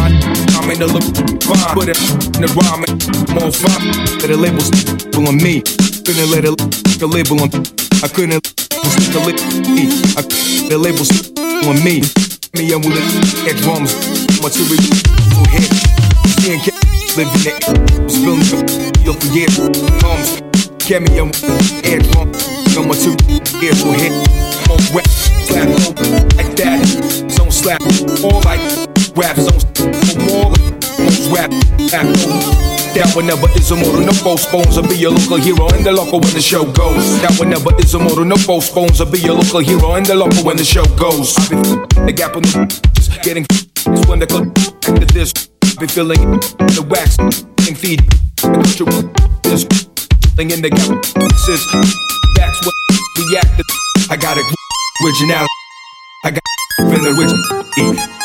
I'm in the look fine. Put it in the rhyme, I'm on fire. Let the labels on me. Couldn't let it the label on. I couldn't stick a lip. The labels on me. Me and with the drums, material head. Seeing living it, spilling up for years. Cameo, air drum, no material head. On rap, slap, like that. Zone slap, all like rap zone, more like rap. That one never is a motor, no postpones. I'll be a local hero in the local when the show goes. That one never is a motor, no postpones. I'll be a local hero in the local when the show goes. I be the gap on the getting is when the club after this. I be feeling the wax, getting feed. This thing in the gap says that's what reacted. I got it originality. I got in the original.